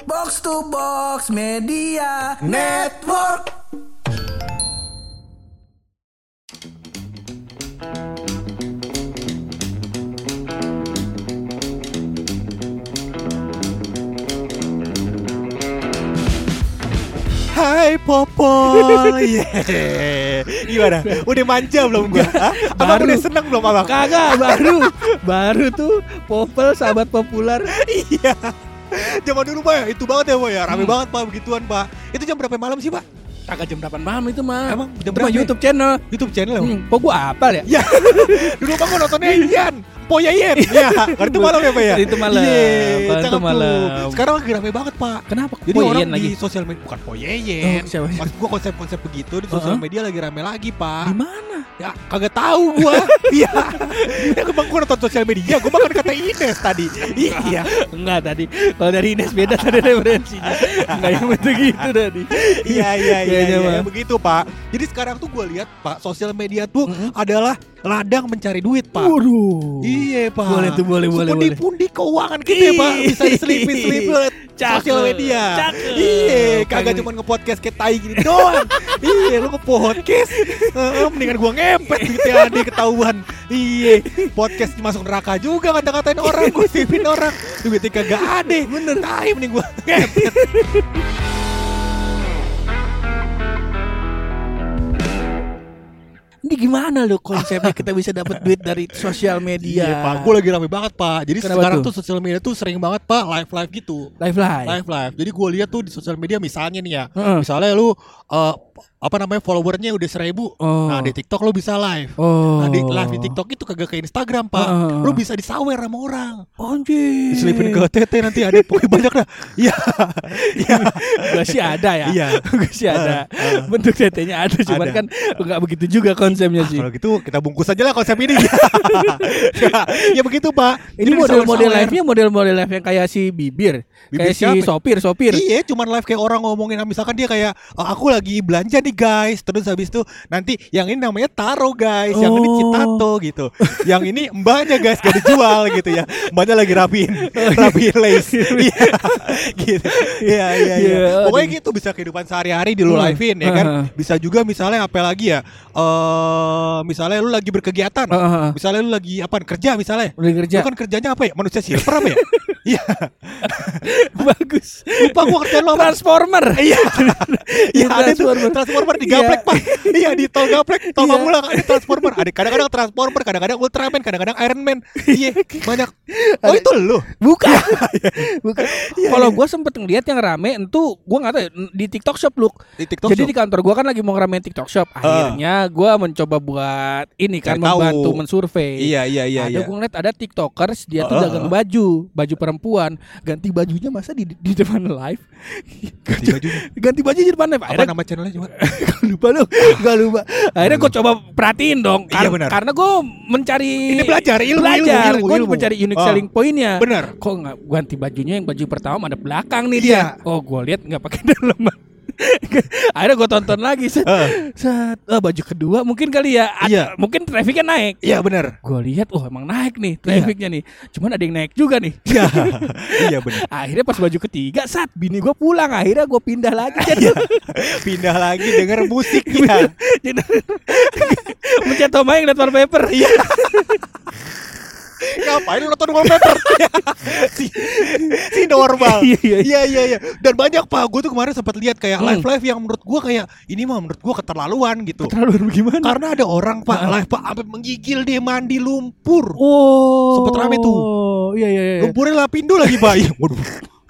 Box to Box Media Network. Hai Popol. Gimana? Udah manja belum gua? Abang udah seneng belum abang? Kagak, baru tuh Popol sahabat populer. Iya. Zaman dulu Pak ya, itu banget ya Pak ya. Rame banget Pak begituan Pak. Itu jam berapa malam sih Pak? Kagak jam 8 malam itu mah. Emang jam itu berapa? mah YouTube channel. YouTube channel ya? Kok gua apal ya? Ya. Dulu Pak gua nontonnya Ian Poyayen. Ya, kan itu malam ya Pak ya? Itu malam. Iya, Itu malam. Sekarang lagi rame banget Pak. Kenapa? Jadi Poyayen orang lagi di sosial media bukan Poyayen. siapa? Maksud gua konsep-konsep begitu di sosial media lagi rame lagi Pak. Di mana? Ya kagak tahu gua. Iya. Ya gua nonton sosial media, gua makan kata Ines tadi. Iya. Enggak tadi. Kalau dari Ines beda tadi referensinya. Enggak yang begitu tadi. Iya, begitu Pak. Jadi sekarang tuh gua lihat Pak, sosial media tuh adalah ladang mencari duit Pak. Waduh. Iya Pak. Boleh. Pundi-pundi keuangan kita ya Pak. Bisa diselipin oleh sosial media. Iya, kagak cuma nge-podcast kayak tai gini doang. Iya, lu nge-podcast. Mendingan gua ngepet gitu ya, ketahuan. Iya, podcast masuk neraka juga kata-katain orang, gosipin orang. Duitnya kagak ada. Bener, tai mending gua ngepet. Ini gimana lo konsepnya kita bisa dapat duit dari sosial media? Iya Pak, gue lagi rame banget Pak. Jadi Kenapa sekarang tuh? tuh sosial media tuh sering banget Pak live gitu. Live. Live. Jadi gue lihat tuh di sosial media misalnya nih ya, misalnya lu followernya udah 1,000. Nah di TikTok lu bisa live. Nah di live di TikTok itu kagak ke Instagram Pak. Lu bisa disawer sama orang. Anjir. Diselipin ke TT nanti ada pokoknya banyak dah. Iya. Gua sih ada ya. Iya. Gua sih ada. Bentuk TT-nya ada, cuman Ada. kan enggak begitu juga konsepnya sih. Kalau gitu kita bungkus aja lah konsep ini. Ya begitu Pak. Ini Jadi model-model disawer-sawer. live-nya model-model live yang kayak si Bibir kayak si siapa? sopir. Iya, cuman live kayak orang ngomongin, misalkan dia kayak aku lagi belanja nih guys, terus habis itu nanti yang ini namanya Taro guys, yang ini Citato gitu, yang ini mbaknya guys gak dijual gitu ya, mbaknya lagi rapiin lace, Iya, gitu, iya. Pokoknya gitu bisa kehidupan sehari-hari di lu live-in ya kan, bisa juga misalnya apa lagi ya, misalnya lu lagi berkegiatan, misalnya lu lagi kerja misalnya, Udah kerja. lu kan kerjanya apa ya, manusia silver apa ya? Iya. Bagus. Lupa gua kerjaan lo apa? Transformer. Iya. Iya ada tuh Transformer di Gaplek Pak. Iya di tol Gaplek, tol Pamulang ada Transformer. Ada kadang-kadang Transformer, kadang-kadang Ultraman, kadang-kadang Iron Man. Iya, banyak. Oh itu lu. Bukan. Kalau gue sempet ngeliat yang rame, itu gue nggak tahu ya, di TikTok Shop look. Di TikTok Jadi Shop. di kantor gue kan lagi mau ngeramein TikTok Shop. Akhirnya gue mencoba buat ini kan, Cari tahu. membantu mensurvei. Iya. Ada gue ngeliat ada TikTokers dia tuh dagang baju perempuan, ganti bajunya masa di depan live. Ganti baju di depan live. Apa nama channelnya coba? Gak lupa. Akhirnya gue coba perhatiin dong. Iya, benar. Karena gue mencari Ini belajar ilmu. Gue mencari unique selling pointnya. Benar. Kok nggak ganti bajunya, yang baju pertama ada belakang nih Iya. dia. Oh gue lihat nggak pakai daleman. Akhirnya gue tonton lagi baju kedua mungkin kali ya. Iya. Mungkin trafficnya naik. Iya benar. Gue lihat emang naik nih trafficnya nih. Cuman ada yang naik juga nih. Iya. Iya benar. Akhirnya pas baju ketiga bini gue pulang, akhirnya gue pindah lagi. Pindah lagi denger musiknya. Mencet tombol yang liat wallpaper. Iya. Ngapain lu nonton wallpaper? si normal. Iya. Dan banyak Pak, gue tuh kemarin sempat lihat kayak live yang menurut gue kayak ini mah menurut gue keterlaluan gitu. Keterlaluan gimana? Karena ada orang Pak live Pak sampai menggigil dia mandi lumpur. Oh. Sempet rame tuh. Iya. Lumpurnya lapindo lagi Pak. Waduh.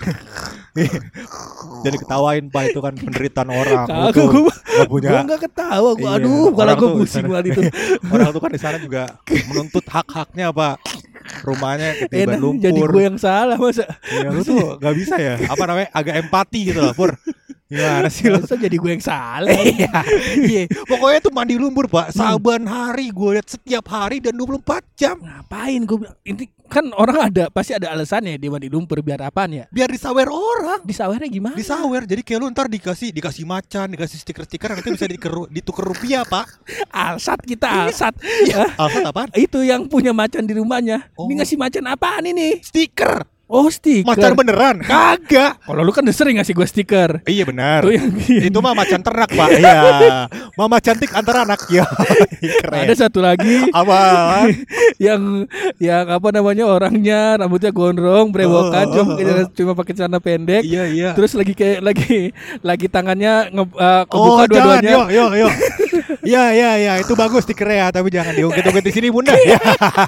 Jadi ketawain Pak, itu kan penderitaan orang. Gue punya. Gue nggak ketawa. Gue Iya. aduh, kalau Orang gue tuh pusing di sana- banget itu. Orang tuh kan di sana juga menuntut hak-haknya Pak. Rumahnya ketiban Enak lumpur. jadi gue yang salah masa. Ya lu tuh gak bisa ya. Apa namanya? Agak empati gitu loh Pur. Gimana sih lu? Masa jadi gue yang salah. Iya. Pokoknya tuh mandi lumpur Pak. Saban hari gue lihat, setiap hari dan 24 jam. Ngapain gue bilang, ini kan orang pasti ada alasannya dia mandi lumpur, biar apaan ya? Biar disawer orang. Disawernya gimana? Disawer. Jadi kayak lu ntar dikasih macan, dikasih stiker-stiker, nanti bisa ditukar rupiah Pak. Alsat kita alsat. Iya. Alsat apaan? Itu yang punya macan di rumahnya. Oh. Ini ngasih macan apaan ini? Stiker. Oh, stiker. Macan beneran? Kagak. Kalau lu kan udah sering ngasih gue stiker. Iya benar. Tuh yang Itu mah macan ternak, Pak. Iya. Mama cantik antar anak. Ya. Keren. ada satu lagi Apa? yang apa namanya, orangnya rambutnya gondrong, brewokan, cuma pakai celana pendek. Iya. Terus lagi tangannya kebuka dua-duanya. Yo. Iya, itu bagus stikernya, tapi jangan diungkit-ungkit di sini, Bunda. Ya.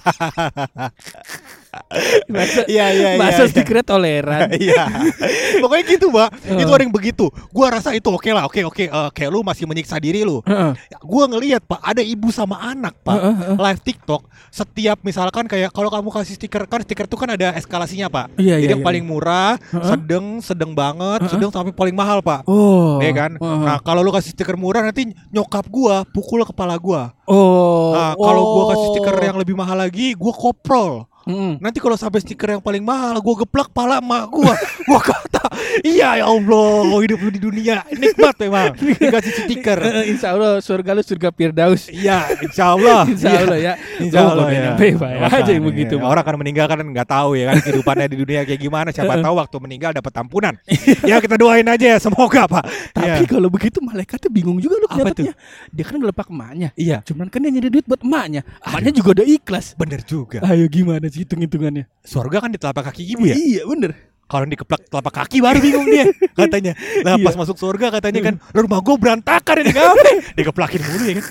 Masa stikernya toleran. Iya. Pokoknya gitu, Mbak. Itu ada yang begitu. Gua rasa itu oke lah. Oke. Kayak lu masih menyiksa diri lu. Gua ngelihat, Pak, ada ibu sama anak, Pak, live TikTok. Setiap misalkan kayak kalau kamu kasih stiker, kan stiker itu kan ada eskalasinya, Pak. Jadi yang paling murah, sedang banget, sedang sampai paling mahal, Pak. Iya kan? Nah, kalau lu kasih stiker murah, nanti nyokap gua pukul kepala gua. Nah, kalau gua kasih stiker yang lebih mahal lagi, gua koprol. Nanti kalau sampai stiker yang paling mahal, gue geplak pala emak gue. Gue kata, iya ya Allah, hidup lu di dunia nikmat memang dikasih stiker. Insya Allah surga lu surga Firdaus. Iya, Insya Allah. Insya Allah ya. Insya Allah ya. Aja yang begitu. Orang akan meninggal kan nggak tahu ya kan kehidupannya di dunia kayak gimana. Siapa tahu waktu meninggal dapat ampunan. Ya kita doain aja ya, semoga, Pak. Tapi kalau begitu malaikatnya bingung juga lu Apa tuh? dapatnya. Dia kan ngelepak emaknya. Iya. Cuman kan dia nyari duit buat emaknya. Emaknya juga udah ikhlas. Bener juga. Ayo gimana sih hitung-hitungannya? Surga kan di telapak kaki ibu ya. Iya bener. Kalau dikeplak telapak kaki baru bingung dia katanya. Nah pas masuk surga katanya kan, rumah gue berantakan ini ngapain? Dikeplakin mulu ya kan.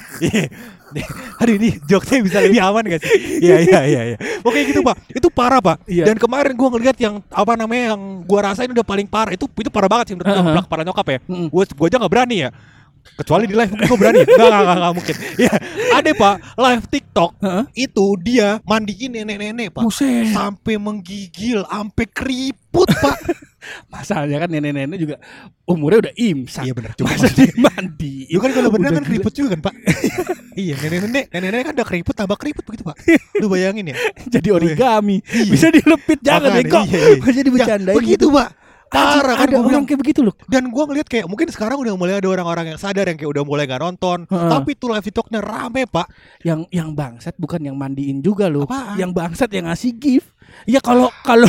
Aduh ini jokesnya bisa lebih aman gak sih? Iya. Oke gitu, Pak. Itu parah, Pak. Dan kemarin gue ngeliat yang apa namanya, yang gue rasain udah paling parah. Itu parah banget sih menurut gue, ngeplak kepala nyokap ya. Gue aja gak berani ya. Kecuali di live mungkin gue berani. Nggak mungkin. Ya, ada, Pak, live TikTok itu dia mandiin nenek-nenek, Pak. Buset. Sampai menggigil, sampai keriput, Pak. Masalahnya kan nenek-nenek juga umurnya udah imsak. Iya benar. Masa dia mandi. Lu kan kalau benar kan keriput juga kan, Pak. Iya, nenek-nenek kan udah keriput tambah keriput begitu, Pak. Lu bayangin ya. Jadi origami. Bisa dilepit, jangan bego. Bisa dibercandain. Begitu, Pak. Parah kan, ada orang kayak begitu loh. Dan gue ngeliat kayak mungkin sekarang udah mulai ada orang-orang yang sadar yang kayak udah mulai gak nonton. Tapi tuh live TikToknya rame, Pak. Yang bangsat bukan yang mandiin juga loh. Apaan? Yang bangsat yang ngasih gift. Ya kalau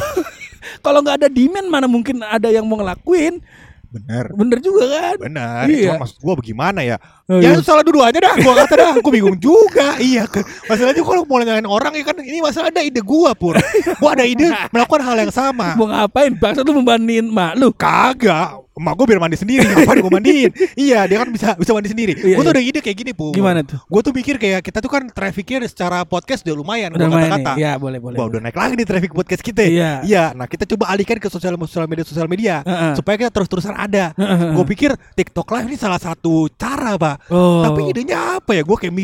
nggak ada demand mana mungkin ada yang mau ngelakuin. Bener juga kan. Bener. Iya. Cuma maksud gue bagaimana ya? Ya itu salah dua-duanya dah. Gue kata dah. Gue bingung juga. Iya. Masalahnya kalau mau nyalain orang ya kan, ini masalah ada ide gue, Pur. Gue ada ide melakukan hal yang sama. Mau ngapain? Bangsa lu membandingin mak lu? Kagak. Emak gue biar mandi sendiri. Ngapain gue mandiin? Iya, dia kan bisa mandi sendiri. Gue tuh ada ide kayak gini, Pur. Gimana tuh? Gue tuh mikir kayak kita tuh kan trafficnya secara podcast udah lumayan. Udah lumayan kata-kata. nih. Ya boleh. Wah, udah naik lagi nih traffic podcast kita. Iya. Nah kita coba alihkan ke sosial media supaya kita terus-terusan ada. Gue pikir TikTok Live ini salah satu cara, Pak. Tapi idenya apa ya? Gue kayak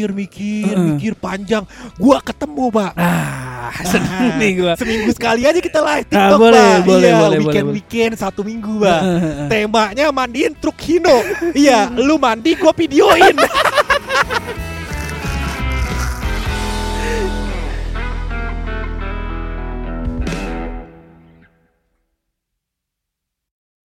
mikir panjang. Gue ketemu, Pak. Seneng nih gue. Seminggu sekali aja kita live TikTok, Pak. Boleh. Weekend 1 minggu, Pak. Temanya mandiin truk Hino. Iya, lu mandi gue videoin.